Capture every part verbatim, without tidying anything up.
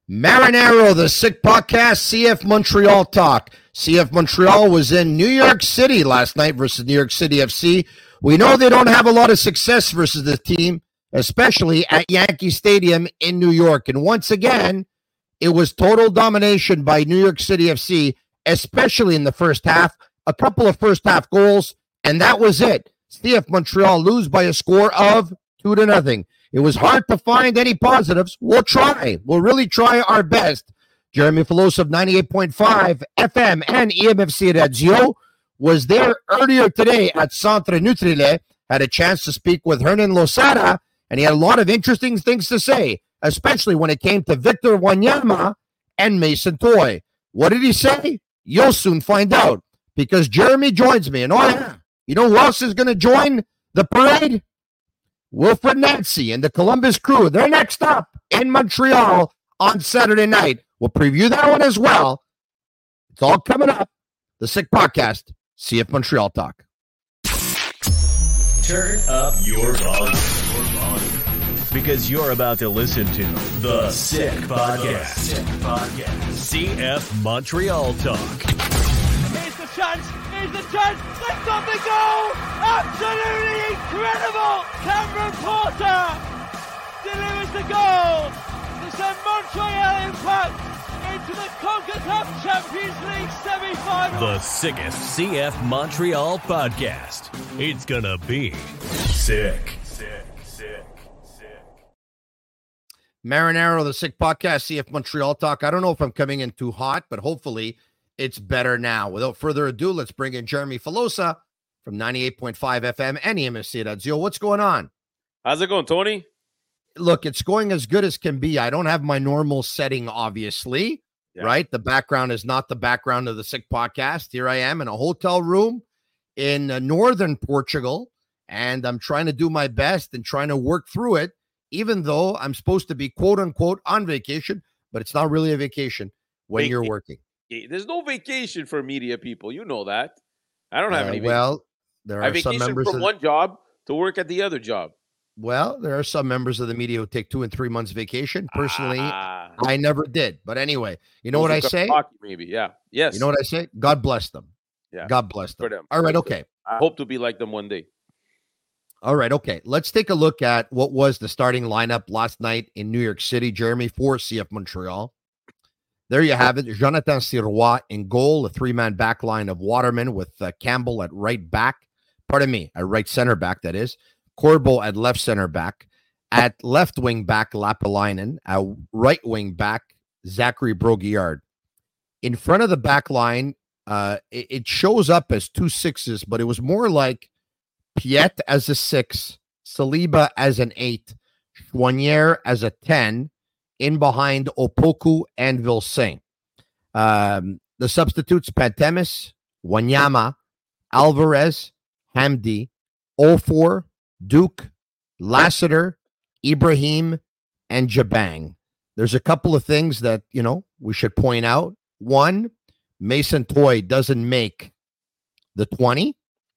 Marinaro, the Sick Podcast, C F Montreal Talk. C F Montreal was in New York City last night versus New York City F C. We know they don't have a lot of success versus the team, especially at Yankee Stadium in New York. And once again, it was total domination by New York City F C, especially in the first half. A couple of first half goals, and that was it. C F Montreal lose by a score of two to nothing. It was hard to find any positives. We'll try. We'll really try our best. Jeremy Filosa of ninety-eight point five F M and E M F C Radio was there earlier today at Centre Nutrile, had a chance to speak with Hernan Losada, and he had a lot of interesting things to say, especially when it came to Victor Wanyama and Mason Toye. What did he say? You'll soon find out, because Jeremy joins me. And oh yeah, you know who else is going to join the parade? Wilfred Nancy and the Columbus Crew. They're next up in Montreal on Saturday night. We'll preview that one as well. It's all coming up. The Sick Podcast, C F Montreal Talk. Turn up your volume, your volume, because you're about to listen to The Sick Podcast. Sick Podcast. C F Montreal Talk. Here's the chance. Here's the chance. Let's stop the goal. Absolutely incredible. Cameron Porter delivers the goal to send Montreal Impact into the CONCACAF Champions League semi-final. The sickest C F Montreal podcast. It's gonna be sick. Sick, sick, sick. Marinaro, the Sick Podcast, C F Montreal Talk. I don't know if I'm coming in too hot, but hopefully it's better now. Without further ado, let's bring in Jeremy Filosa from ninety-eight point five F M and E M F C Radio. What's going on? How's it going, Tony? Look, it's going as good as can be. I don't have my normal setting, obviously, yeah. Right? The background is not the background of the Sick Podcast. Here I am in a hotel room in uh, northern Portugal, and I'm trying to do my best and trying to work through it, even though I'm supposed to be, quote unquote, on vacation, but it's not really a vacation when Vac- you're working. There's no vacation for media people. You know that. I don't have uh, any vacation. Well, there are I vacation some members from of- one job to work at the other job. Well, there are some members of the media who take two and three months vacation. Personally, ah. I never did. But anyway, you know Those what I say? Hockey, maybe, yeah. Yes. You know what I say? God bless them. Yeah. God bless them. For them. All right, okay. I hope to be like them one day. All right, okay. Let's take a look at what was the starting lineup last night in New York City, Jeremy, for C F Montreal. There you have it. Jonathan Sirois in goal, a three-man back line of Waterman with uh, Campbell at right back. Pardon me, at right center back, that is. Corbo at left center back. At left wing back, Lapalainen. At right wing back, Zachary Broguillard. In front of the back line, uh, it, it shows up as two sixes, but it was more like Piet as a six, Saliba as an eight, Choinière as a ten, in behind Opoku and Vilsaint. Um, the substitutes, Pantemis, Wanyama, Alvarez, Hamdi, Ofor, Duke, Lassiter, Ibrahim, and Jabang. There's a couple of things that, you know, we should point out. One, Mason Toye doesn't make the twenty.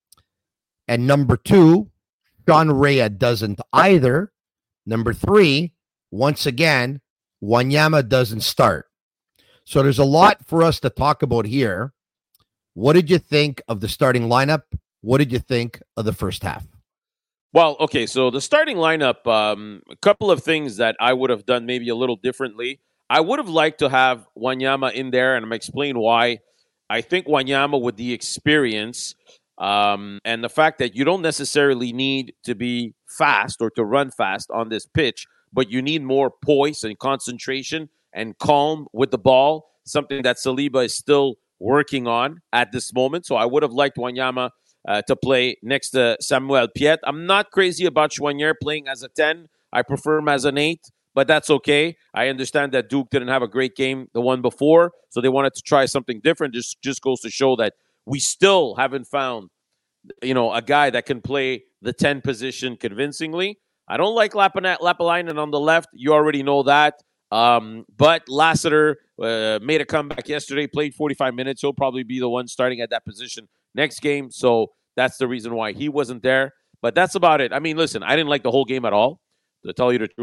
And number two, Sean Rea doesn't either. Number three, once again, Wanyama doesn't start. So there's a lot for us to talk about here. What did you think of the starting lineup? What did you think of the first half? Well, okay, so the starting lineup, um, a couple of things that I would have done maybe a little differently. I would have liked to have Wanyama in there, and I'm explain why. I think Wanyama, with the experience um, and the fact that you don't necessarily need to be fast or to run fast on this pitch, but you need more poise and concentration and calm with the ball, something that Saliba is still working on at this moment. So I would have liked Wanyama Uh, to play next to Samuel Piet. I'm not crazy about Choinière playing as a ten. I prefer him as an eight, but that's okay. I understand that Duke didn't have a great game the one before, so they wanted to try something different. Just just goes to show that we still haven't found, you know, a guy that can play the ten position convincingly. I don't like Lapalainen on the left. You already know that. Um, but Lassiter uh, made a comeback yesterday, played forty-five minutes. He'll probably be the one starting at that position next game. So that's the reason why he wasn't there. But that's about it. I mean, listen, I didn't like the whole game at all, to tell you the truth.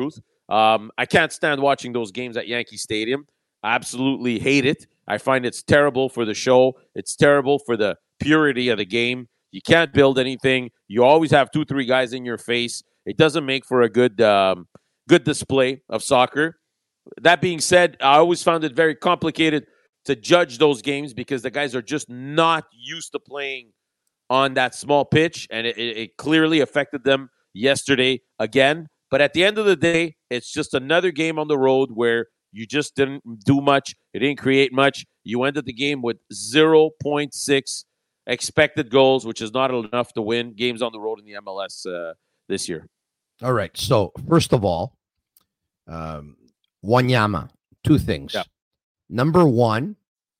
Um, I can't stand watching those games at Yankee Stadium. I absolutely hate it. I find it's terrible for the show. It's terrible for the purity of the game. You can't build anything. You always have two, three guys in your face. It doesn't make for a good, um, good display of soccer. That being said, I always found it very complicated to judge those games because the guys are just not used to playing on that small pitch, and it, it, it clearly affected them yesterday again. But at the end of the day, it's just another game on the road where you just didn't do much. You didn't create much. You ended the game with zero point six expected goals, which is not enough to win games on the road in the M L S uh, this year. All right. So, first of all, um, Wanyama, two things. Yeah. Number one,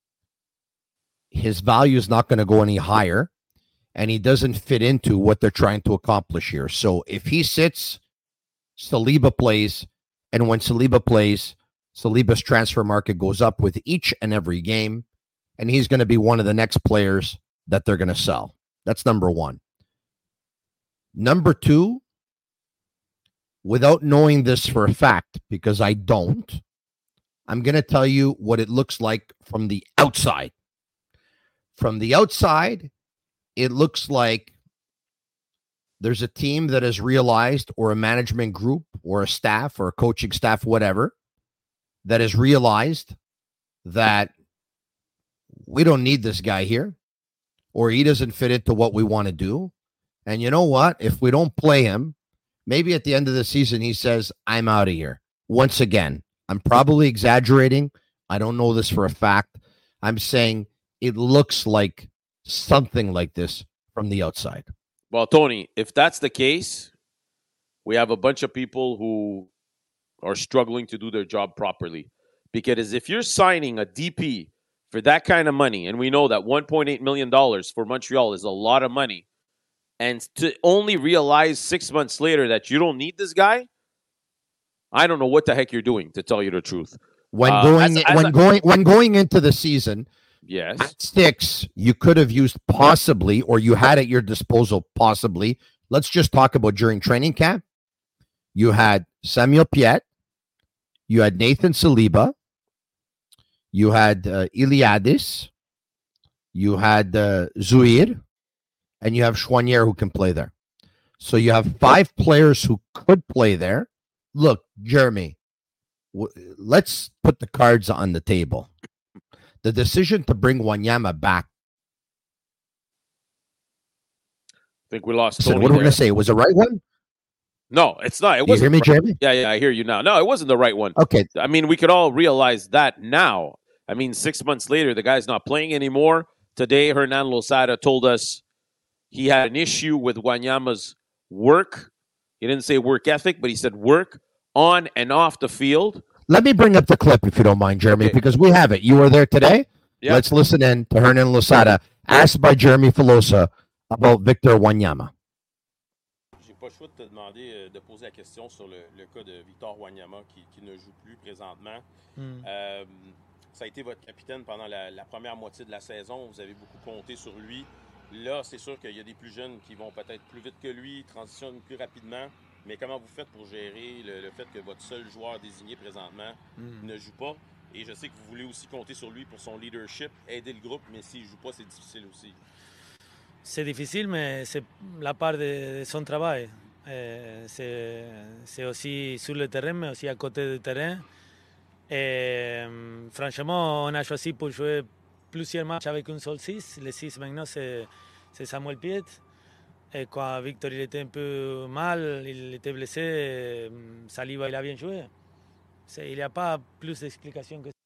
his value is not going to go any higher, and he doesn't fit into what they're trying to accomplish here. So, if he sits, Saliba plays, and when Saliba plays, Saliba's transfer market goes up with each and every game, and he's going to be one of the next players that they're going to sell. That's number one. Number two, without knowing this for a fact, because I don't, I'm going to tell you what it looks like from the outside. From the outside, it looks like there's a team that has realized, or a management group, or a staff, or a coaching staff, whatever, that has realized that we don't need this guy here, or he doesn't fit into what we want to do. And you know what? If we don't play him, maybe at the end of the season, he says, I'm out of here. Once again, I'm probably exaggerating. I don't know this for a fact. I'm saying it looks like something like this from the outside. Well, Tony, if that's the case, we have a bunch of people who are struggling to do their job properly. Because if you're signing a D P for that kind of money, and we know that one point eight million dollars for Montreal is a lot of money, and to only realize six months later that you don't need this guy, I don't know what the heck you're doing, to tell you the truth. When Uh, going as- as when a- going when going into the season, Yes. at six, you could have used possibly, or you had at your disposal possibly. Let's just talk about during training camp. You had Samuel Piet, you had Nathan Saliba, you had uh, Iliadis, you had uh, Zuir, and you have Chouanier who can play there. So you have five players who could play there. Look, Jeremy, w- let's put the cards on the table. The decision to bring Wanyama back. I think we lost Listen, Tony what are we there. going to say? It was the right one? No, it's not. It You wasn't. hear me, the right- Jeremy? Yeah, yeah, I hear you now. No, it wasn't the right one. Okay. I mean, we could all realize that now. I mean, six months later, the guy's not playing anymore. Today, Hernan Losada told us he had an issue with Wanyama's work. He didn't say work ethic, but he said work on and off the field. Let me bring up the clip, if you don't mind, Jeremy, Okay. because we have it. You were there today. Yeah. Let's listen in to Hernan Losada, asked by Jeremy Filosa about Victor Wanyama. J'ai pas le choix de te demander euh, de poser la question sur le, le cas de Victor Wanyama qui, qui ne joue plus présentement. Mm. Euh, ça a été votre capitaine pendant la, la première moitié de la saison. Vous avez beaucoup compté sur lui. Là, c'est sûr qu'il y a des plus jeunes qui vont peut-être plus vite que lui, transitionnent plus rapidement. Mais comment vous faites pour gérer le, le fait que votre seul joueur désigné présentement Mm. ne joue pas? Et je sais que vous voulez aussi compter sur lui pour son leadership, aider le groupe, mais s'il ne joue pas, c'est difficile aussi. C'est difficile, mais c'est la part de, de son travail. Euh, c'est, c'est aussi sur le terrain, mais aussi à côté du terrain. Et, euh, franchement, on a choisi pour jouer plusieurs matchs avec un seul six. Le six maintenant, c'est, c'est Samuel Piet. Et quand Victor il était un peu mal, il était blessé, euh, Saliba il a bien joué. C'est, il n'y a pas plus d'explications que ça.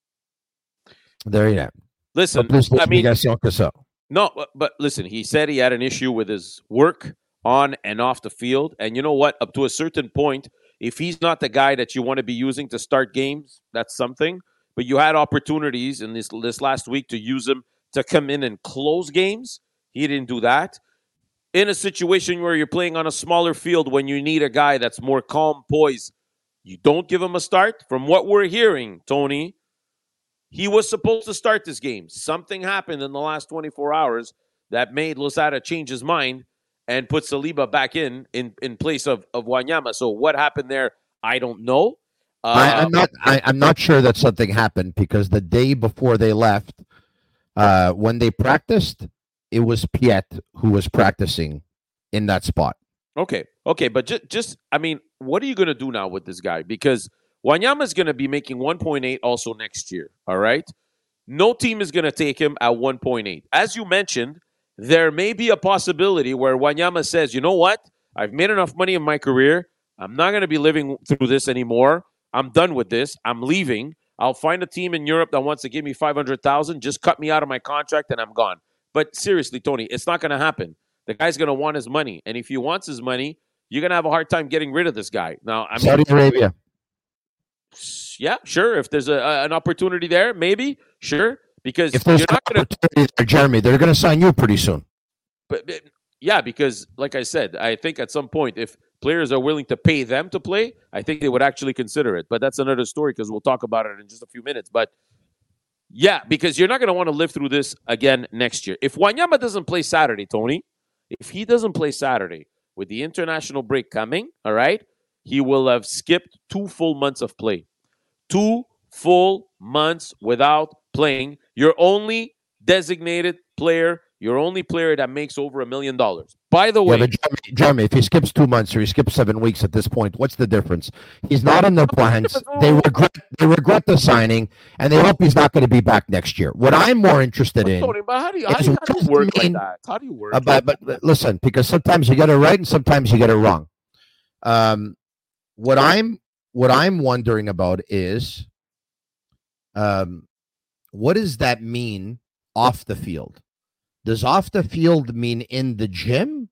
There you have it. Listen, Pas plus I mean, d'explication que ça. no, but, but listen, he said he had an issue with his work on and off the field. And you know what? Up to a certain point, if he's not the guy that you want to be using to start games, that's something. But you had opportunities in this this last week to use him to come in and close games. He didn't do that. In a situation where you're playing on a smaller field when you need a guy that's more calm, poised, you don't give him a start. From what we're hearing, Tony, he was supposed to start this game. Something happened in the last twenty-four hours that made Losada change his mind and put Saliba back in in, in place of, of Wanyama. So what happened there, I don't know. Uh, I, I'm not. I, I'm not sure that something happened because the day before they left, uh, when they practiced, it was Piet who was practicing in that spot. Okay, okay, but just, just I mean, what are you going to do now with this guy? Because Wanyama is going to be making one point eight also next year, all right? No team is going to take him at one point eight. As you mentioned, there may be a possibility where Wanyama says, you know what? I've made enough money in my career. I'm not going to be living through this anymore. I'm done with this. I'm leaving. I'll find a team in Europe that wants to give me five hundred thousand dollars. Just cut me out of my contract and I'm gone. But seriously, Tony, it's not going to happen. The guy's going to want his money. And if he wants his money, you're going to have a hard time getting rid of this guy. Now, I mean, Saudi Arabia. Yeah, sure. If there's a, a, an opportunity there, maybe, sure. Because If there's you're an not going to. opportunity there, Jeremy, they're going to sign you pretty soon. But, but yeah, because like I said, I think at some point, if players are willing to pay them to play, I think they would actually consider it. But that's another story because we'll talk about it in just a few minutes. But yeah, because you're not going to want to live through this again next year. If Wanyama doesn't play Saturday, Tony, if he doesn't play Saturday with the international break coming, all right, he will have skipped two full months of play. Two full months without playing. Your only designated player, your only player that makes over a million dollars. By the way, yeah, but Jeremy, Jeremy, if he skips two months or he skips seven weeks at this point, what's the difference? He's not in their plans. They regret they regret the signing, and they hope he's not going to be back next year. What I'm more interested in Tony, but how do you, how is do you, how do you work what does it like mean- that? How do you work? Uh, but, but but listen, because sometimes you get it right and sometimes you get it wrong. Um, what I'm what I'm wondering about is, um, what does that mean off the field? Does off the field mean in the gym,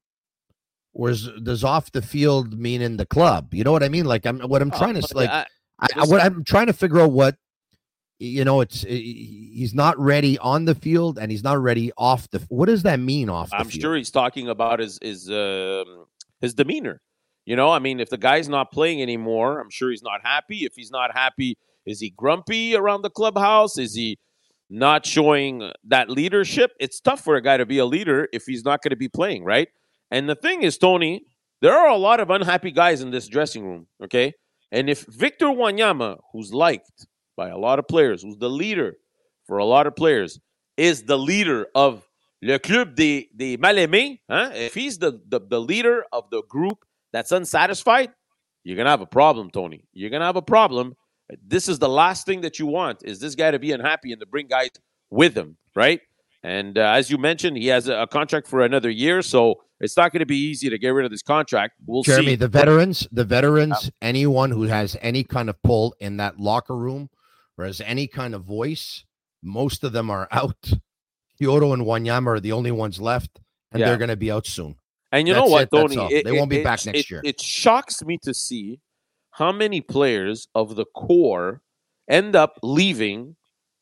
or is, does off the field mean in the club? You know what I mean? Like I'm what I'm trying to Oh, like. I- I, I, what I'm trying to figure out what you know. It's he's not ready on the field and he's not ready off the. What does that mean off the I'm field? sure he's talking about his his um, his demeanor. You know, I mean, if the guy's not playing anymore, I'm sure he's not happy. If he's not happy, is he grumpy around the clubhouse? Is he not showing that leadership? It's tough for a guy to be a leader if he's not going to be playing, right? And the thing is, Tony, there are a lot of unhappy guys in this dressing room, okay? And if Victor Wanyama, who's liked by a lot of players, who's the leader for a lot of players, is the leader of Le Club des, des Mal-Aimés, huh? If he's the, the, the leader of the group that's unsatisfied, you're going to have a problem, Tony. You're going to have a problem. This is the last thing that you want, is this guy to be unhappy and to bring guys with him, right? And uh, as you mentioned, he has a, a contract for another year, so it's not going to be easy to get rid of this contract. We'll Jeremy, see. the veterans, the veterans, anyone who has any kind of pull in that locker room or has any kind of voice, most of them are out. Kyoto and Wanyama are the only ones left, and Yeah. they're going to be out soon. And you That's know what, it, that's Tony? all. It- They won't be it- back it- next it- year. It shocks me to see how many players of the core end up leaving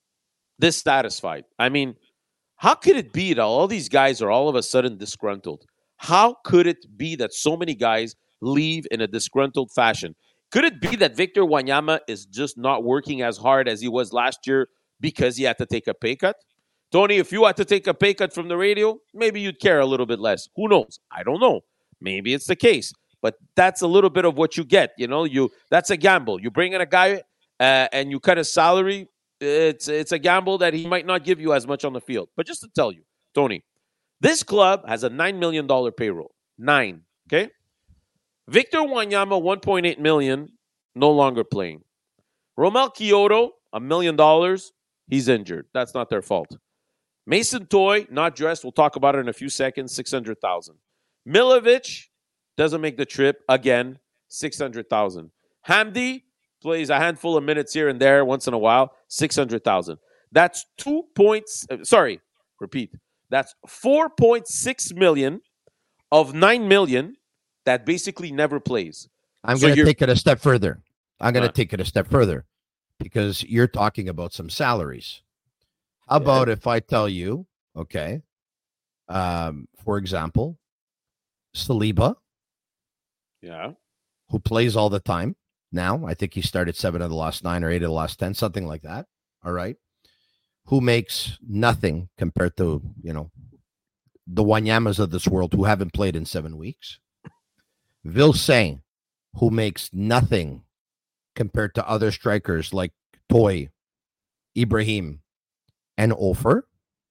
dissatisfied. I mean, how could it be that all these guys are all of a sudden disgruntled? How could it be that so many guys leave in a disgruntled fashion? Could it be that Victor Wanyama is just not working as hard as he was last year because he had to take a pay cut? Tony, if you had to take a pay cut from the radio, maybe you'd care a little bit less. Who knows? I don't know. Maybe it's the case. But that's a little bit of what you get. You know, you that's a gamble. You bring in a guy uh, and you cut his salary. It's it's a gamble that he might not give you as much on the field. But just to tell you, Tony, this club has a nine million dollars payroll. Nine, okay? Victor Wanyama, one point eight million dollars, no longer playing. Romel Kyoto, a million dollars, he's injured. That's not their fault. Mason Toy, not dressed. We'll talk about it in a few seconds, six hundred thousand dollars. Milovic doesn't make the trip, again, six hundred thousand dollars. Hamdi plays a handful of minutes here and there once in a while, six hundred thousand dollars. That's two points. Uh, sorry, repeat. That's four point six million dollars of nine million dollars that basically never plays. I'm So going to you're- take it a step further. I'm going to Huh. take it a step further because you're talking about some salaries. How about if I tell you, okay, um, for example, Saliba, Yeah. who plays all the time now. I think he started seven of the last nine or eight of the last ten, something like that. All right. Who makes nothing compared to, you know, the Wanyamas of this world who haven't played in seven weeks. Vilsain, who makes nothing compared to other strikers like Toy, Ibrahim, and Ofer.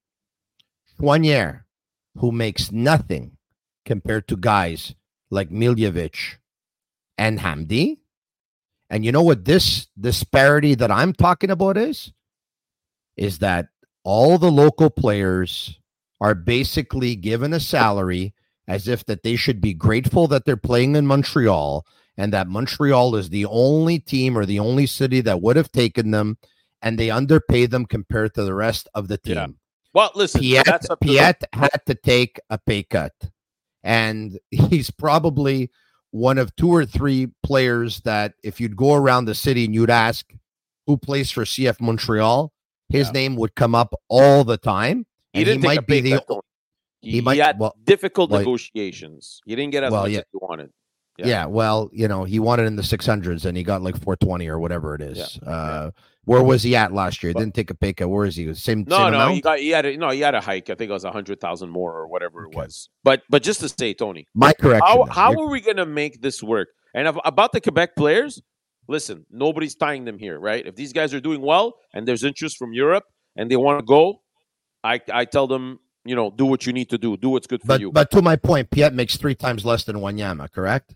Choinière, who makes nothing compared to guys like Miljevic and Hamdi. And you know what this disparity that I'm talking about is? Is that all the local players are basically given a salary as if that they should be grateful that they're playing in Montreal and that Montreal is the only team or the only city that would have taken them, and they underpay them compared to the rest of the team. Yeah. Well, listen, Piet, that's up to Piet had to take a pay cut, and he's probably one of two or three players that if you'd go around the city and you'd ask who plays for C F Montreal, his Yeah. name would come up all the time. He and didn't he take might a pay be the cut, Tony. He, he he might- had well- difficult well, negotiations. He didn't get as well, much yeah. as he wanted. Yeah. Yeah. well, you know, he wanted in the six hundreds and he got like four twenty or whatever it is. Yeah, Uh, where was he at last year? He But- didn't take a pay cut. Where is he? Same, No, same no, amount? he got he had a, no, he had a hike. I think it was a hundred thousand more or whatever Okay. it was. But but just to say, Tony, My correction. how then. how You're- are we gonna make this work? And ab- about the Quebec players, listen, nobody's tying them here, right? If these guys are doing well and there's interest from Europe and they want to go, I I tell them, you know, do what you need to do, do what's good for but you. but to my point, Piet makes three times less than Wanyama, correct?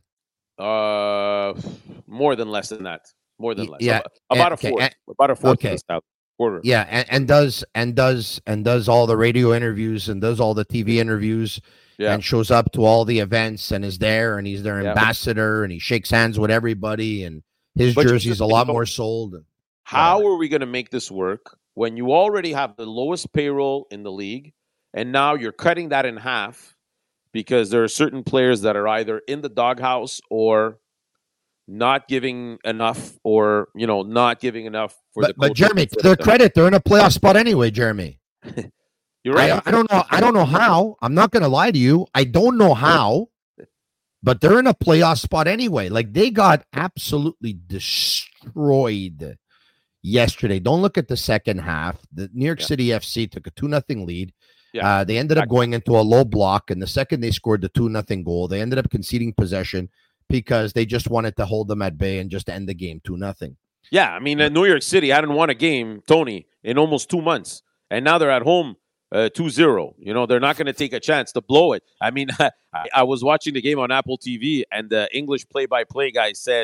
Uh, more than less than that. More than Y- less. yeah, About, about okay, a fourth. and- about a fourth. okay. Of the stout- quarter. Yeah, and, and does and does and does all the radio interviews and does all the T V interviews Yeah. and shows up to all the events and is there and he's their Yeah. ambassador and he shakes hands with everybody and his But you jersey's just- a lot you know- more sold. How Whatever. are we going to make this work when you already have the lowest payroll in the league, and now you're cutting that in half because there are certain players that are either in the doghouse or not giving enough, or you know, not giving enough for the. But, but coach Jeremy, to to their them. credit, they're in a playoff spot anyway, Jeremy. You're right. I, I don't know. I don't know how. I'm not going to lie to you. I don't know how, but they're in a playoff spot anyway. Like they got absolutely destroyed yesterday. Don't look at the second half. The New York Yeah. City F C took a two nothing lead. Yeah, Uh, they ended up exactly. going into a low block, and the second they scored the two nothing goal, they ended up conceding possession because they just wanted to hold them at bay and just end the game two nothing. Yeah, I mean, uh, New York City hadn't won a game, Tony, in almost two months. And now they're at home uh, two zero. You know, they're not going to take a chance to blow it. I mean, I, I was watching the game on Apple T V, and the English play-by-play guy said,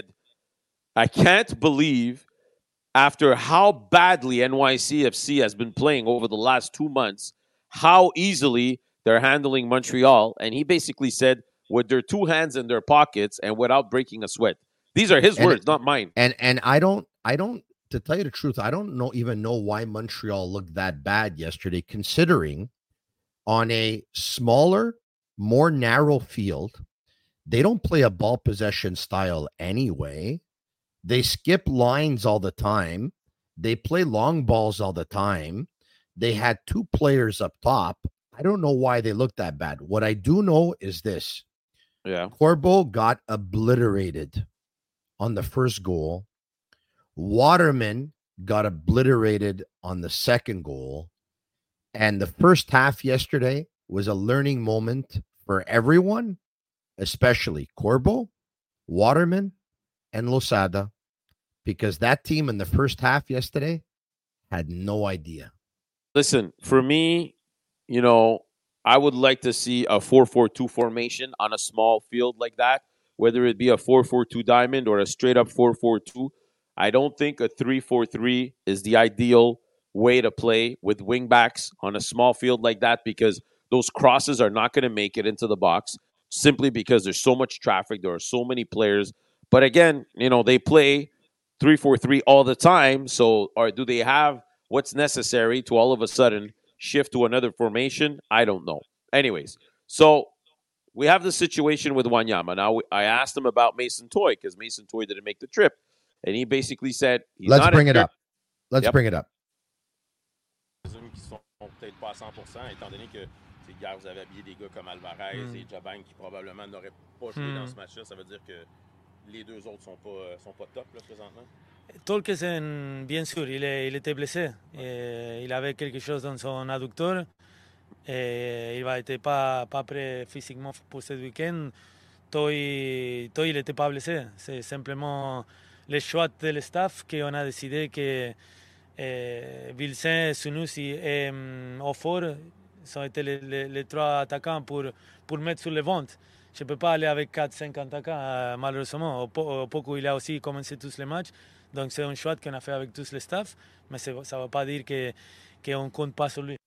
I can't believe after how badly N Y C F C has been playing over the last two months, how easily they're handling Montreal. And he basically said, with their two hands in their pockets and without breaking a sweat. These are his And words, it- not mine. And and I don't I don't to tell you the truth, I don't know even know why Montreal looked that bad yesterday, considering on a smaller, more narrow field, they don't play a ball possession style anyway. They skip lines all the time. They play long balls all the time. They had two players up top. I don't know why they looked that bad. What I do know is this. Yeah. Corbo got obliterated on the first goal. Waterman got obliterated on the second goal. And the first half yesterday was a learning moment for everyone, especially Corbo, Waterman, and Losada, because that team in the first half yesterday had no idea. Listen, for me, you know, I would like to see a four four two formation on a small field like that, whether it be a four four two diamond or a straight up four four two. I don't think a three four three is the ideal way to play with wingbacks on a small field like that, because those crosses are not going to make it into the box simply because there's so much traffic. There are so many players. But again, you know, they play three four three all the time. So, or do they have what's necessary to all of a sudden shift to another formation? I don't know. Anyways, so we have the situation with Wanyama. Now, I asked him about Mason Toy because Mason Toy didn't make the trip. And he basically said, he's Let's not bring it injured. up. Let's Yep. bring it up. Hommes qui sont peut-être pas à cent pour cent, étant donné que hier, vous avez habillé des gars comme Alvarez Mm. et Jabang qui probablement n'auraient pas joué Mm. dans ce match-là. Ça veut dire que les deux autres sont pas, euh, sont pas top là, présentement. Tolkien, bien sûr, il, est, il était blessé. Et il avait quelque chose dans son adducteur. Et il n'était pas, pas prêt physiquement pour ce week-end. Toy, Toy il n'était pas blessé. C'est simplement les choix de le staff qu'on a décidé que eh, Vilsain, Sunusi et um, Ofor sont été les, les, les trois attaquants pour, pour mettre sur le ventre. Je ne peux pas aller avec quatre cinq attaquants, euh, malheureusement. Au, au Poco, il a aussi commencé tous les matchs. Donc, c'est un choix qu'on a fait avec tous les staffs. Mais ça ne veut pas dire que, qu'on ne compte pas sur lui.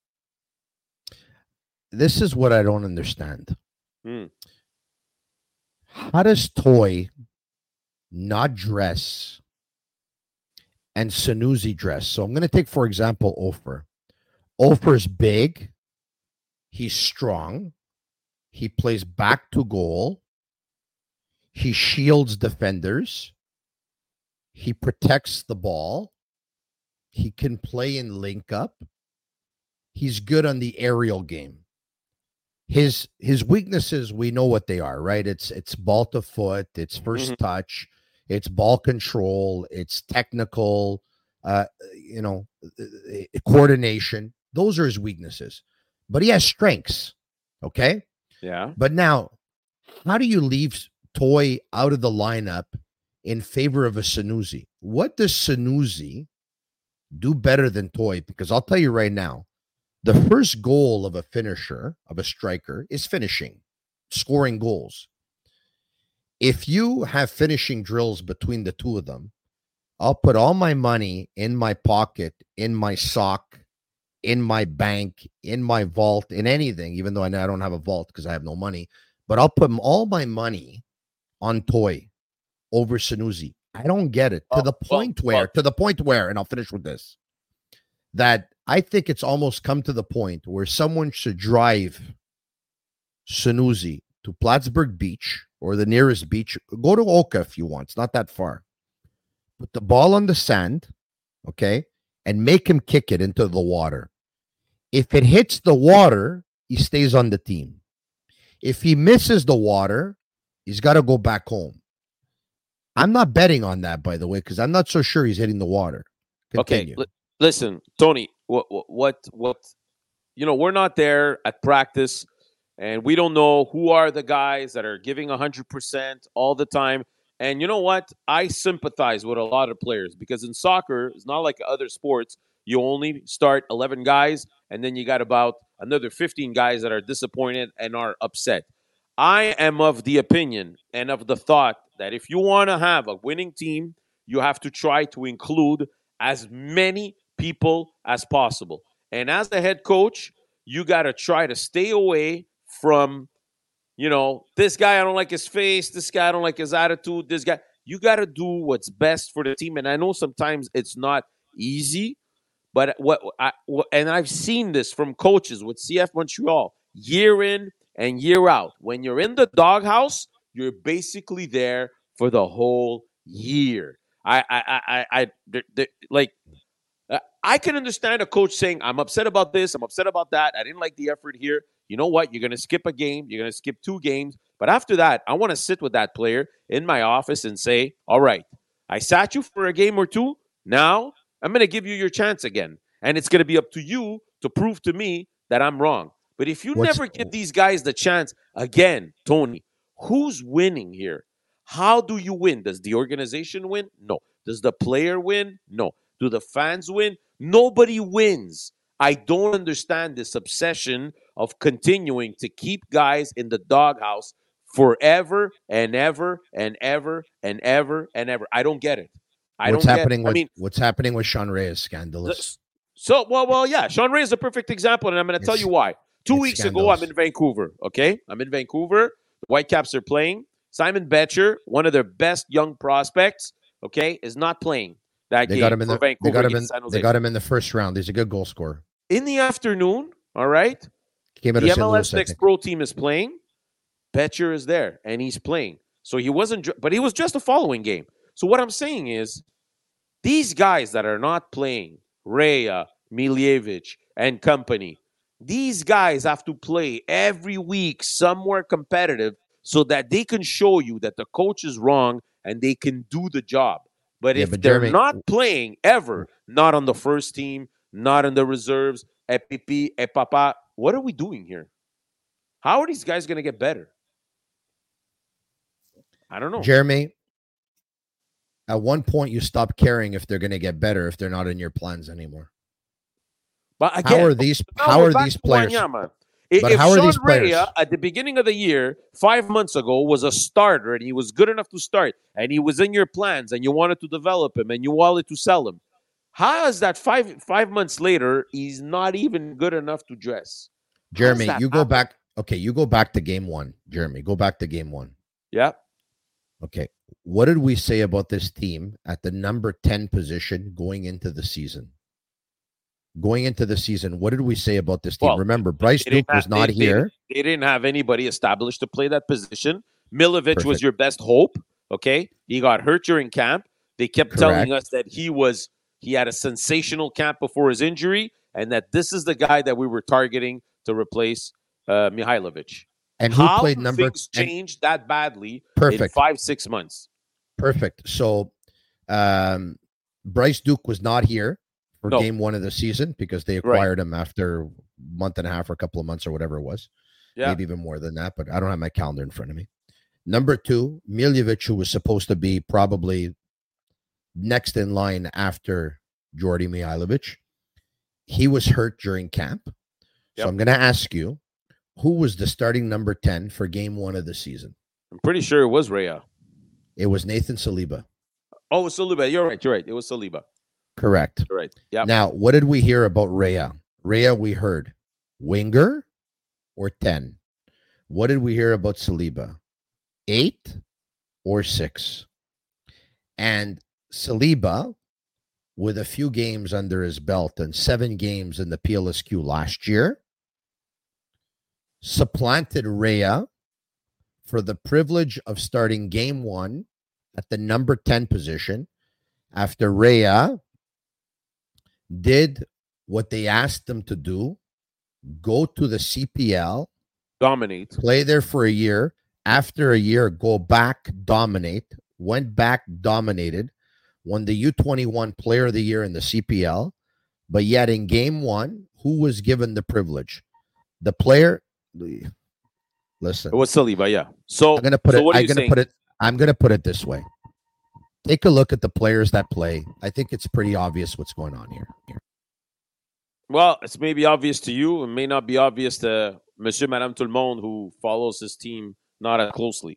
This is what I don't understand. Hmm. How does Toy not dress and Sanusi dress? So I'm going to take, for example, Ofer. Ofer's big. He's strong. He plays back to goal. He shields defenders. He protects the ball. He can play in link up. He's good on the aerial game. His his weaknesses, we know what they are, right? It's it's ball to foot, it's first mm-hmm. touch, it's ball control, it's technical, uh, you know, coordination. Those are his weaknesses. But he has strengths, okay? Yeah. But now, how do you leave Toy out of the lineup in favor of a Sanusi? What does Sanusi do better than Toy? Because I'll tell you right now, the first goal of a finisher, of a striker, is finishing, scoring goals. If you have finishing drills between the two of them, I'll put all my money in my pocket, in my sock, in my bank, in my vault, in anything, even though I know I don't have a vault because I have no money, but I'll put all my money on Toy over Sanusi. I don't get it. To oh, the point well, where, well. to the point where, and I'll finish with this, that I think it's almost come to the point where someone should drive Sanusi to Plattsburgh Beach or the nearest beach. Go to Oka if you want. It's not that far. Put the ball on the sand, okay, and make him kick it into the water. If it hits the water, he stays on the team. If he misses the water, he's got to go back home. I'm not betting on that, by the way, because I'm not so sure he's hitting the water. Continue. Okay, l- listen, Tony, what, what, what, you know, we're not there at practice, and we don't know who are the guys that are giving one hundred percent all the time. And you know what? I sympathize with a lot of players because in soccer, it's not like other sports. You only start eleven guys, and then you got about another fifteen guys that are disappointed and are upset. I am of the opinion and of the thought that if you want to have a winning team, you have to try to include as many people as possible. And as the head coach, you got to try to stay away from, you know, this guy, I don't like his face. This guy, I don't like his attitude. This guy, you got to do what's best for the team. And I know sometimes it's not easy, but what I, and I've seen this from coaches with C F Montreal year in and year out. When you're in the doghouse, you're basically there for the whole year. I, I, I, I, I the, like, I can understand a coach saying, I'm upset about this, I'm upset about that, I didn't like the effort here. You know what? You're going to skip a game, you're going to skip two games. But after that, I want to sit with that player in my office and say, all right, I sat you for a game or two. Now I'm going to give you your chance again. And it's going to be up to you to prove to me that I'm wrong. But if you What's, never give these guys the chance again, Tony, who's winning here? How do you win? Does the organization win? No. Does the player win? No. Do the fans win? Nobody wins. I don't understand this obsession of continuing to keep guys in the doghouse forever and ever and ever and ever and ever. I don't get it. I what's don't happening get it. with I mean, what's happening with Sean Ray is scandalous. So, well, well, yeah, Sean Ray is a perfect example, and I'm going to tell you why. Two weeks scandalous. ago, I'm in Vancouver. Okay, I'm in Vancouver. The Whitecaps are playing. Simon Betcher, one of their best young prospects, okay, is not playing that they game got him in for the, Vancouver. They got him in, San Jose. they got him in the first round. He's a good goal scorer. In the afternoon, all right, Came out the of M L S Saint Louis, Next Pro team is playing. Betcher is there, and he's playing. So he wasn't, but he was just a following game. So what I'm saying is, these guys that are not playing, Rhea, Miljevic, and company, these guys have to play every week somewhere competitive so that they can show you that the coach is wrong and they can do the job. But yeah, if but they're Jeremy, not playing ever, not on the first team, not in the reserves, Epipi, Epapa, what are we doing here? How are these guys going to get better? I don't know. Jeremy, at one point you stop caring if they're going to get better if they're not in your plans anymore. But again, how are these? now How we're are back these to players? Wanyama. If, But if how are Sean these players? Rea at the beginning of the year, five months ago, was a starter and he was good enough to start and he was in your plans and you wanted to develop him and you wanted to sell him, how is that five five months later he's not even good enough to dress? Jeremy, that you go happen? back. Okay, you go back to game one. Jeremy, go back to game one. Yeah. Okay, what did we say about this team at the number ten position going into the season? Going into the season, what did we say about this team? Well, Remember, Bryce They didn't Duke was have- not they- they- here. They didn't have anybody established to play that position. Milovic was Perfect. your best hope. Okay, he got hurt during camp. They kept telling Correct. us that he was he had a sensational camp before his injury, and that this is the guy that we were targeting to replace uh, Mihailovic. And who How played do number? things and- changed that badly in Perfect. five six months? Perfect. So, um, Bryce Duke was not here for No. game one of the season because they Right. acquired him after a month and a half or a couple of months or whatever it was. Yeah, Maybe even more than that, but I don't have my calendar in front of me. Number two, Miljevic, who was supposed to be probably next in line after Jordy Mihailovic, he was hurt during camp. Yep. So I'm going to ask you, who was the starting number ten for game one of the season? I'm pretty sure it was Rea. It was Nathan Saliba. Oh, it was Saliba. You're right. You're right. It was Saliba. Correct. You're right. Yeah. Now, what did we hear about Rea? Rea, we heard winger or ten. What did we hear about Saliba? Eight or six? And Saliba, with a few games under his belt and seven games in the P L S Q last year, supplanted Rea for the privilege of starting game one at the number ten position after Rea did what they asked him to do, go to the C P L, Dominate. play there for a year. After a year, go back, dominate, went back, dominated, won the U twenty-one Player of the Year in the C P L. But yet in game one, who was given the privilege? The player. Listen, It was Saliba. Yeah. So I'm gonna put so it. what are I'm you gonna saying? put it. I'm gonna put it this way. Take a look at the players that play. I think it's pretty obvious what's going on here. Well, it's maybe obvious to you. It may not be obvious to Monsieur, Madame, Tout le Monde who follows his team not as closely.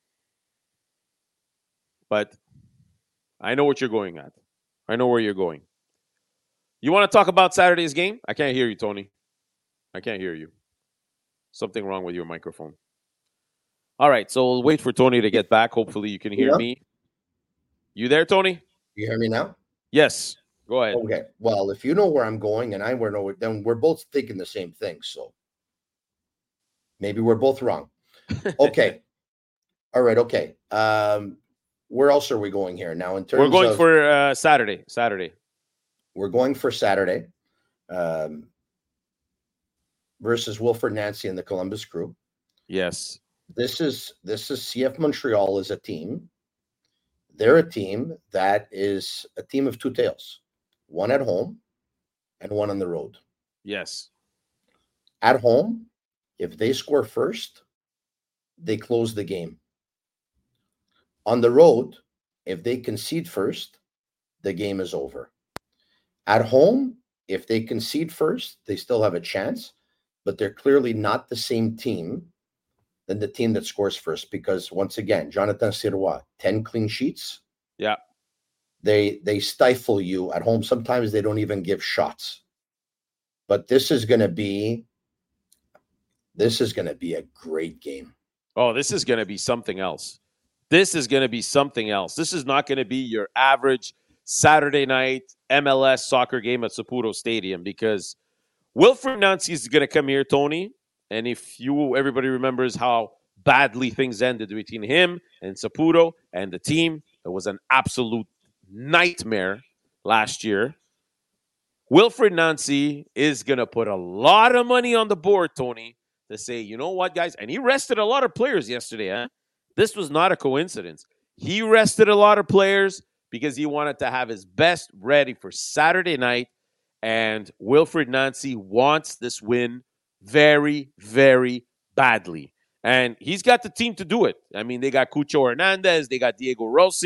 But I know what you're going at. I know where you're going. You want to talk about Saturday's game? I can't hear you, Tony. I can't hear you. Something wrong with your microphone. All right, so we'll wait for Tony to get back. Hopefully you can hear Yeah. me. You there, Tony? You hear me now? Yes. Go ahead. Okay. Well, if you know where I'm going and I know, then we're both thinking the same thing. So maybe we're both wrong. Okay. All right. Okay. Um, where else are we going here now? In terms, We're going of, for uh, Saturday. Saturday. we're going for Saturday um, versus Wilfred Nancy and the Columbus Crew. Yes. This is this is C F Montreal as a team. They're a team that is a team of two tails, one at home and one on the road. Yes. At home, if they score first, they close the game. On the road, if they concede first, the game is over. At home, if they concede first, they still have a chance, but they're clearly not the same team than the team that scores first because, once again, Jonathan Sirois, ten clean sheets. Yeah. They they stifle you at home. Sometimes they don't even give shots. But this is going to be this is going to be a great game. Oh, this is going to be something else. This is going to be something else. This is not going to be your average Saturday night M L S soccer game at Saputo Stadium because Wilfred Nancy is going to come here, Tony. And if you, everybody remembers how badly things ended between him and Saputo and the team, it was an absolute nightmare last year. Wilfred Nancy is going to put a lot of money on the board, Tony, to say, you know what, guys? And he rested a lot of players yesterday. Huh? This was not a coincidence. He rested a lot of players because he wanted to have his best ready for Saturday night. And Wilfred Nancy wants this win very, very badly. And he's got the team to do it. I mean, they got Cucho Hernandez, they got Diego Rossi,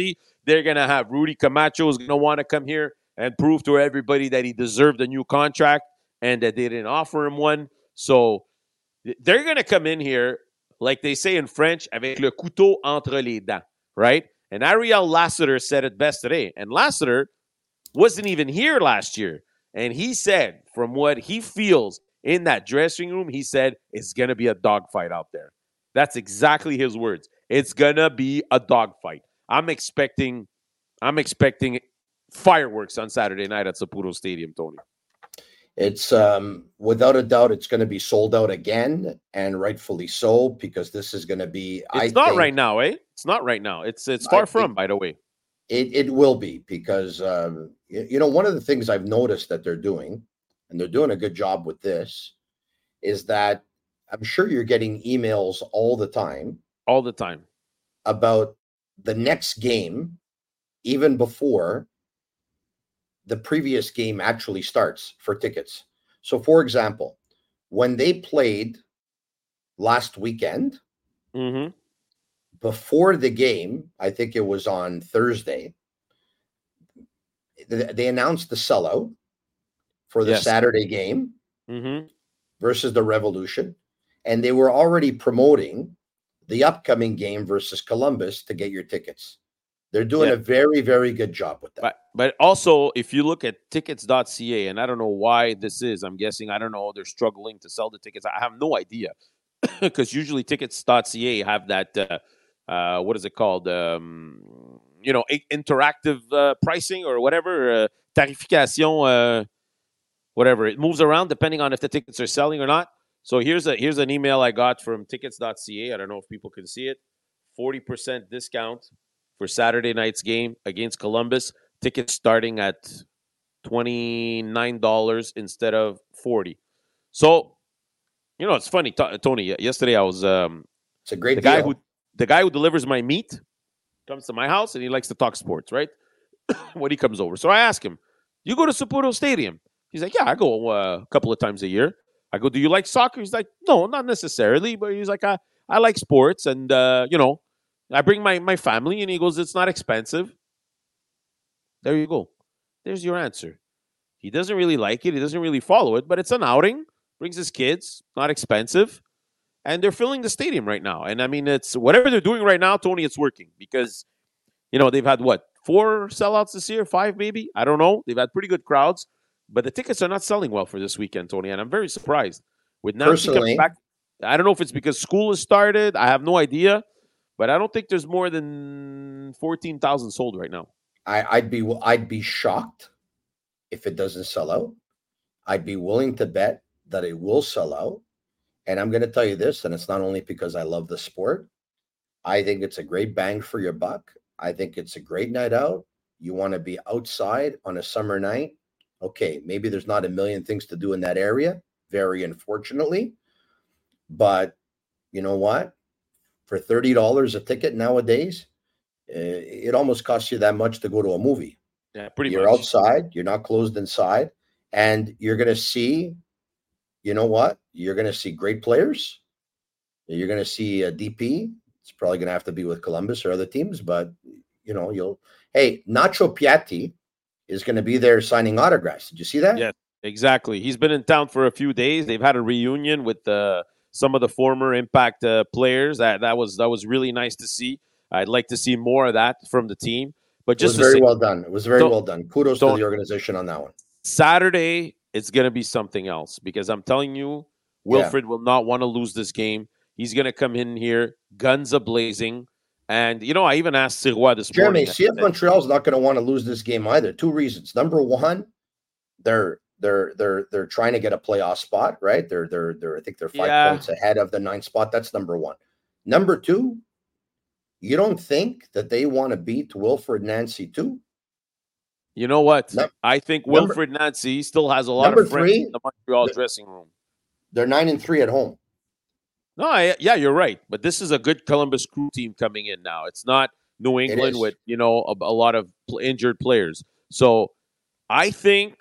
They're going to have Rudy Camacho is going to want to come here and prove to everybody that he deserved a new contract and that they didn't offer him one. So they're going to come in here, like they say in French, avec le couteau entre les dents, right? And Ariel Lassiter said it best today. And Lassiter wasn't even here last year. And he said, from what he feels in that dressing room, he said, it's going to be a dogfight out there. That's exactly his words. It's going to be a dogfight. I'm expecting, I'm expecting fireworks on Saturday night at Saputo Stadium, Tony. It's um, without a doubt, it's going to be sold out again, and rightfully so, because this is going to be. It's I not think, right now, eh? It's not right now. It's it's far I from, think by the way. It it will be because um, you, you know one of the things I've noticed that they're doing, and they're doing a good job with this, is that I'm sure you're getting emails all the time, all the time about the next game, even before the previous game actually starts for tickets. So, for example, when they played last weekend, mm-hmm. before the game, I think it was on Thursday, they announced the sellout for the yes. Saturday game mm-hmm. versus the Revolution. And they were already promoting the upcoming game versus Columbus to get your tickets. They're doing yeah. a very, very good job with that. But, but also, if you look at tickets dot c a, and I don't know why this is, I'm guessing, I don't know, they're struggling to sell the tickets. I have no idea. Because usually tickets dot c a have that, uh, uh, what is it called? Um, you know, interactive uh, pricing or whatever, uh, tarification, uh, whatever. It moves around depending on if the tickets are selling or not. So here's a here's an email I got from tickets dot c a. I don't know if people can see it. forty percent discount for Saturday night's game against Columbus. Tickets starting at twenty-nine dollars instead of forty dollars. So, you know, it's funny, T- Tony. Yesterday I was um, it's a great the deal. guy who the guy who delivers my meat comes to my house and he likes to talk sports, right? When he comes over, so I ask him, "You go to Saputo Stadium?" He's like, "Yeah, I go uh, a couple of times a year." I go, "Do you like soccer?" He's like, "No, not necessarily," but he's like, "I I like sports, and uh, you know, I bring my my family." And he goes, "It's not expensive." There you go. There's your answer. He doesn't really like it. He doesn't really follow it, but it's an outing. Brings his kids. Not expensive. And they're filling the stadium right now. And I mean, it's whatever they're doing right now, Tony, it's working. Because, you know, they've had, what, four sellouts this year? Five, maybe? I don't know. They've had pretty good crowds. But the tickets are not selling well for this weekend, Tony. And I'm very surprised. With Nancy coming back, I don't know if it's because school has started. I have no idea. But I don't think there's more than fourteen thousand sold right now. I, I'd be I'd be shocked if it doesn't sell out. I'd be willing to bet that it will sell out. And I'm going to tell you this, and it's not only because I love the sport. I think it's a great bang for your buck. I think it's a great night out. You want to be outside on a summer night. Okay, maybe there's not a million things to do in that area, very unfortunately. But you know what? For thirty dollars a ticket nowadays, it almost costs you that much to go to a movie. Yeah, pretty you're much. You're outside. You're not closed inside. And you're going to see, you know what? You're going to see great players. You're going to see a D P. It's probably going to have to be with Columbus or other teams. But, you know, you'll – hey, Nacho Piatti is going to be there signing autographs. Did you see that? Yes, exactly. He's been in town for a few days. They've had a reunion with uh, some of the former Impact uh, players. That that was that was really nice to see. I'd like to see more of that from the team. But just it was very say, well done. It was very well done. Kudos to the organization on that one. Saturday, it's going to be something else because I'm telling you, Wilfred yeah. will not want to lose this game. He's going to come in here, guns a-blazing. And, you know, I even asked Sirois this Jeremy, morning. C F Montreal's not going to want to lose this game either. Two reasons. Number one, they're they're they're they're trying to get a playoff spot, right? They're they're they're I think they're five yeah. points ahead of the ninth spot. That's number one. Number two, you don't think that they want to beat Wilfred Nancy too? You know what? No, I think number, Wilfred Nancy still has a lot of friends three, in the Montreal dressing room. They're nine and three at home. No, I, yeah, you're right. But this is a good Columbus Crew team coming in now. It's not New England with, you know, a, a lot of injured players. So I think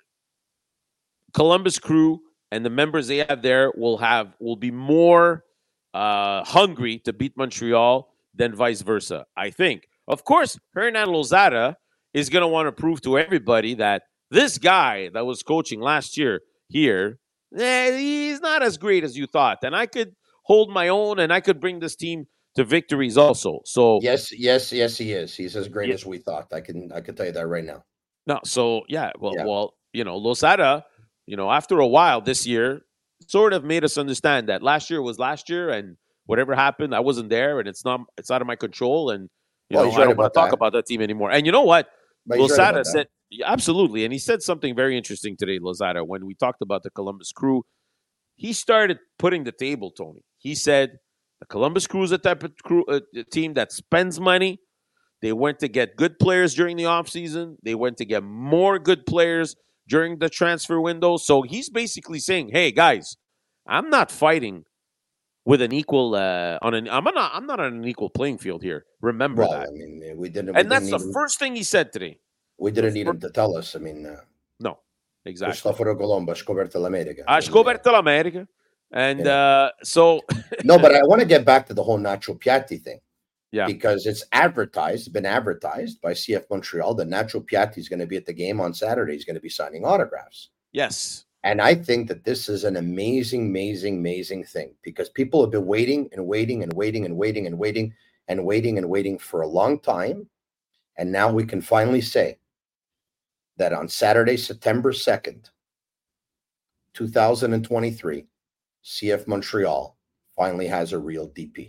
Columbus Crew and the members they have there will have will be more uh, hungry to beat Montreal than vice versa, I think. Of course, Hernan Lozada is going to want to prove to everybody that this guy that was coaching last year here, eh, he's not as great as you thought. And I could hold my own, and I could bring this team to victories also. So yes, yes, yes, he is. He's as great yeah. as we thought. I can, I can tell you that right now. No, so yeah, well, Yeah. well, you know, Lozada, you know, after a while this year, sort of made us understand that last year was last year, and whatever happened, I wasn't there, and it's not, it's out of my control, and you Well, know, he's I right don't want about to talk that. about that team anymore. And you know what? But he's right Lozada about that. said yeah, absolutely, and he said something very interesting today, Lozada, when we talked about the Columbus Crew. He started putting the table, Tony. He said the Columbus Crew is a type of crew, uh, team that spends money. They went to get good players during the offseason. They went to get more good players during the transfer window. So he's basically saying, hey, guys, I'm not fighting with an equal uh, on an I'm not I'm not on an equal playing field here. Remember well, that. I mean, we didn't. And we that's didn't the even, first thing he said today. We didn't the need fir- him to tell us. I mean, uh, no, exactly. Cristoforo Colombo, scoperto l'America. Ha scoperto l'America. And Yeah. uh, so No, but I want to get back to the whole Nacho Piatti thing. Yeah. Because it's advertised, been advertised by C F Montreal that Nacho Piatti is going to be at the game on Saturday. He's going to be signing autographs. yes. And I think that this is an amazing, amazing, amazing thing because people have been waiting and waiting and waiting and waiting and waiting and waiting and waiting for a long time. And now we can finally say that on Saturday, September second, two thousand twenty-three, C F Montreal finally has a real D P.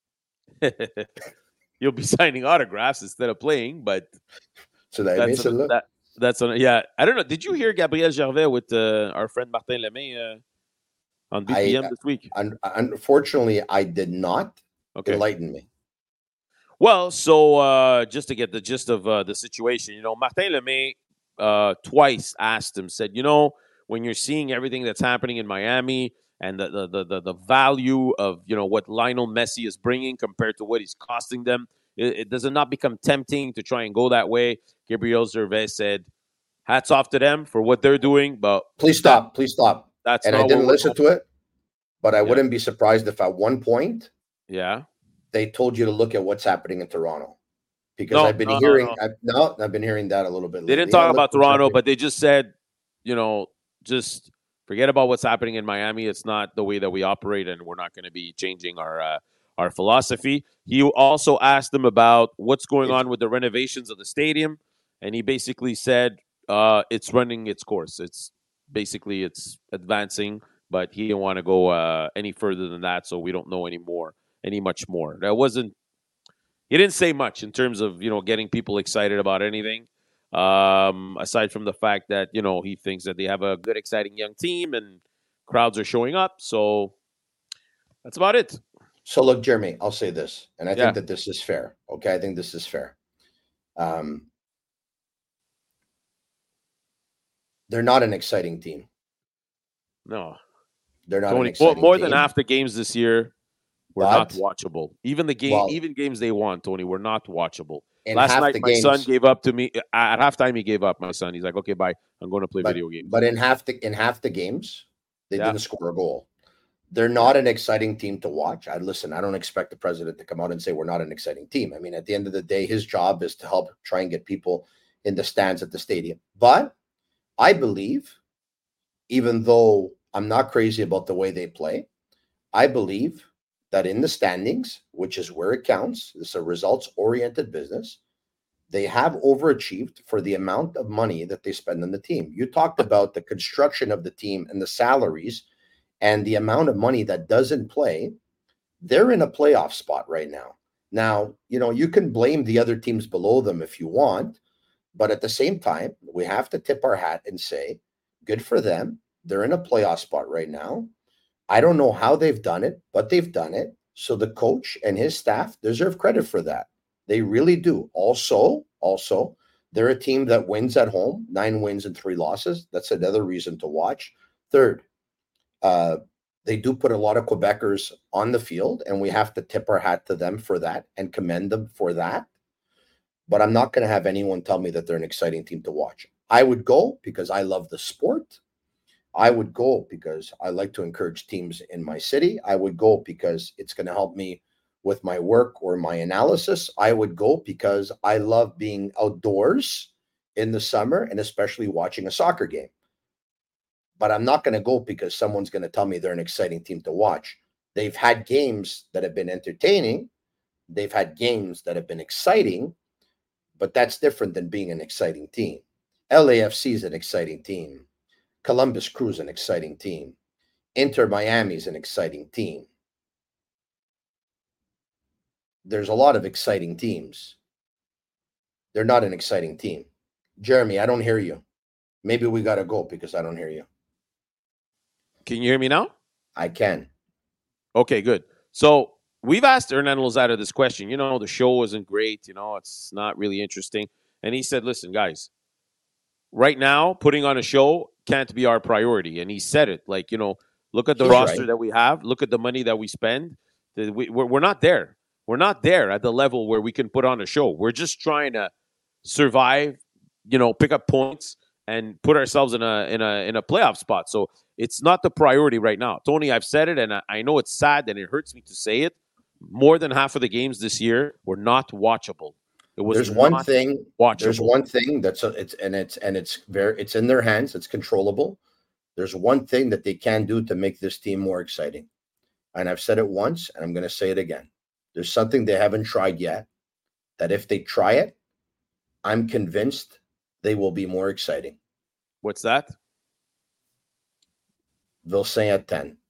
You'll be signing autographs instead of playing, but So that that's means a, that, that's a, yeah. I don't know. Did you hear Gabriel Gervais with uh, our friend Martin Lemay uh, on B P M I, this week? un- unfortunately, I did not. Okay. Enlighten me. Well, so uh, just to get the gist of uh, the situation, you know, Martin Lemay uh, twice asked him, said, you know, when you're seeing everything that's happening in Miami and the, the the the the value of, you know, what Lionel Messi is bringing compared to what he's costing them, it, it does it not become tempting to try and go that way? Gabriel Gervais said, hats off to them for what they're doing, but Please stop. Please stop. that's And not I didn't what listen to it, but I Yeah. wouldn't be surprised if at one point Yeah. they told you to look at what's happening in Toronto. Because No, I've been no, no, hearing, no. I've, no, I've been hearing that a little bit. They didn't lately. talk Yeah, about look what's Toronto, happening. but they just said, you know, just forget about what's happening in Miami. It's not the way that we operate, and we're not going to be changing our uh, our philosophy. He also asked them about what's going on with the renovations of the stadium, and he basically said uh, it's running its course. It's basically it's advancing, but he didn't want to go uh, any further than that, so we don't know any more, any much more. That wasn't. He didn't say much in terms of, you know, getting people excited about anything. Um, aside from the fact that, you know, he thinks that they have a good, exciting young team and crowds are showing up. So that's about it. So look, Jeremy, I'll say this, and I Yeah. think that this is fair. Okay, I think this is fair. Um, they're not an exciting team. No, They're not Tony, an more, exciting more team. than half the games this year were But- not watchable. Even the game, Well- even games they won, Tony, were not watchable. In Last half night, the my games, son gave up to me at halftime. He gave up. My son, he's like, "Okay, bye. I'm going to play but, video games." but in half the in half the games, they Yeah. didn't score a goal. They're not an exciting team to watch. I listen. I don't expect the president to come out and say we're not an exciting team. I mean, at the end of the day, his job is to help try and get people in the stands at the stadium. But I believe, even though I'm not crazy about the way they play, I believe that in the standings, which is where it counts, it's a results-oriented business, they have overachieved for the amount of money that they spend on the team. You talked about the construction of the team and the salaries and the amount of money that doesn't play. They're in a playoff spot right now. Now, you know, you can blame the other teams below them if you want, but at the same time, we have to tip our hat and say, good for them. They're in a playoff spot right now. I don't know how they've done it, but they've done it. So the coach and his staff deserve credit for that. They really do. Also, also, they're a team that wins at home, nine wins and three losses. That's another reason to watch. Third, uh, they do put a lot of Quebecers on the field, and we have to tip our hat to them for that and commend them for that. But I'm not going to have anyone tell me that they're an exciting team to watch. I would go because I love the sport. I would go because I like to encourage teams in my city. I would go because it's going to help me with my work or my analysis, I would go because I love being outdoors in the summer and especially watching a soccer game. But I'm not going to go because someone's going to tell me they're an exciting team to watch. They've had games that have been entertaining. They've had games that have been exciting, but that's different than being an exciting team. L A F C is an exciting team. Columbus Crew is an exciting team. Inter Miami is an exciting team. There's a lot of exciting teams. They're not an exciting team. Jeremy, I don't hear you. Maybe we got to go because I don't hear you. Can you hear me now? I can. Okay, good. So we've asked Hernan Lozada this question. You know, the show isn't great. You know, it's not really interesting. And he said, listen, guys, right now, putting on a show can't be our priority. And he said it. Like, you know, look at the He's roster right. that we have. Look at the money that we spend. We, we're, we're not there. We're not there at the level where we can put on a show. We're just trying to survive, you know, pick up points and put ourselves in a in a in a playoff spot. So it's not the priority right now. Tony, I've said it, and I, I know it's sad and it hurts me to say it. More than half of the games this year were not watchable. It was there's one thing. Watchable. There's one thing that's a, it's and it's and it's very it's in their hands. It's controllable. There's one thing that they can do to make this team more exciting, and I've said it once, and I'm going to say it again. There's something they haven't tried yet. That if they try it, I'm convinced they will be more exciting. What's that? Vilsaint at ten.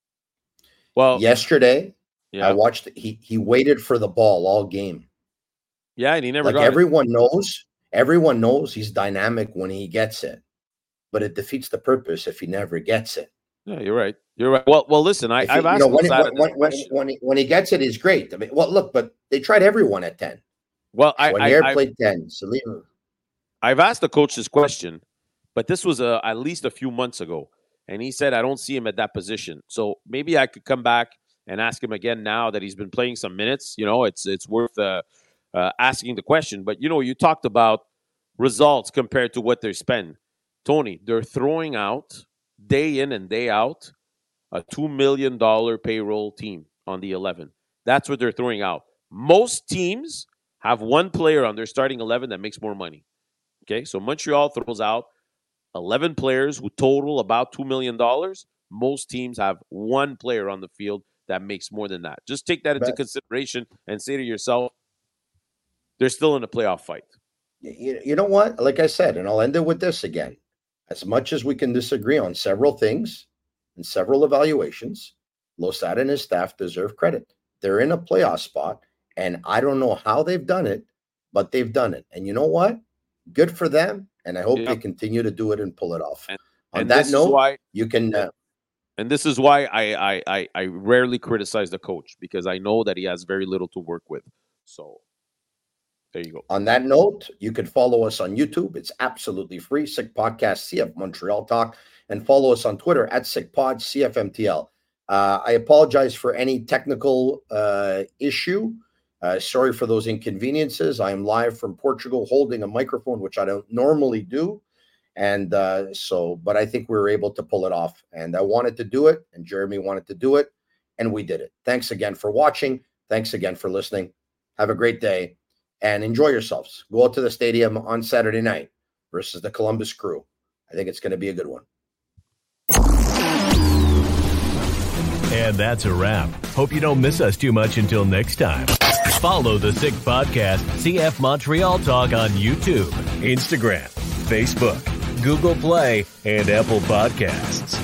Well, yesterday, yeah. I watched. He he waited for the ball all game. Yeah, and he never like got everyone it. knows. Everyone knows he's dynamic when he gets it, but it defeats the purpose if he never gets it. Yeah, you're right. You're right. Well, well, listen, I, he, I've asked you know, when, when, when, when, when, he, when he gets it, he's great. I mean, well, look, but they tried everyone at ten. Well, I, when I, I played ten, Salim. I've asked the coach this question, but this was uh, at least a few months ago, and he said I don't see him at that position. So maybe I could come back and ask him again now that he's been playing some minutes. You know, it's it's worth uh, uh, asking the question. But you know, you talked about results compared to what they spend. Tony, they're throwing out day in and day out a two million dollars payroll team on the eleven. That's what they're throwing out. Most teams have one player on their starting eleven that makes more money. Okay, so Montreal throws out eleven players who total about two million dollars. Most teams have one player on the field that makes more than that. Just take that into but, consideration and say to yourself, they're still in a playoff fight. You, you know what? Like I said, and I'll end it with this again. As much as we can disagree on several things and several evaluations, Lozada and his staff deserve credit. They're in a playoff spot, and I don't know how they've done it, but they've done it. And you know what? Good for them, and I hope yeah. they continue to do it and pull it off. And, On and that note, why, you can... Uh, and this is why I, I, I, I rarely criticize the coach, because I know that he has very little to work with. So... there you go. On that note, you can follow us on YouTube. It's absolutely free. Sick Podcast, C F Montreal Talk. And follow us on Twitter at SickPod, C F M T L. Uh, I apologize for any technical uh, issue. Uh, sorry for those inconveniences. I am live from Portugal holding a microphone, which I don't normally do. And uh, so, but I think we were able to pull it off. And I wanted to do it, and Jeremy wanted to do it, and we did it. Thanks again for watching. Thanks again for listening. Have a great day. And enjoy yourselves. Go out to the stadium on Saturday night versus the Columbus Crew. I think it's going to be a good one. And that's a wrap. Hope you don't miss us too much until next time. Follow the Sick Podcast, C F Montreal Talk on YouTube, Instagram, Facebook, Google Play, and Apple Podcasts.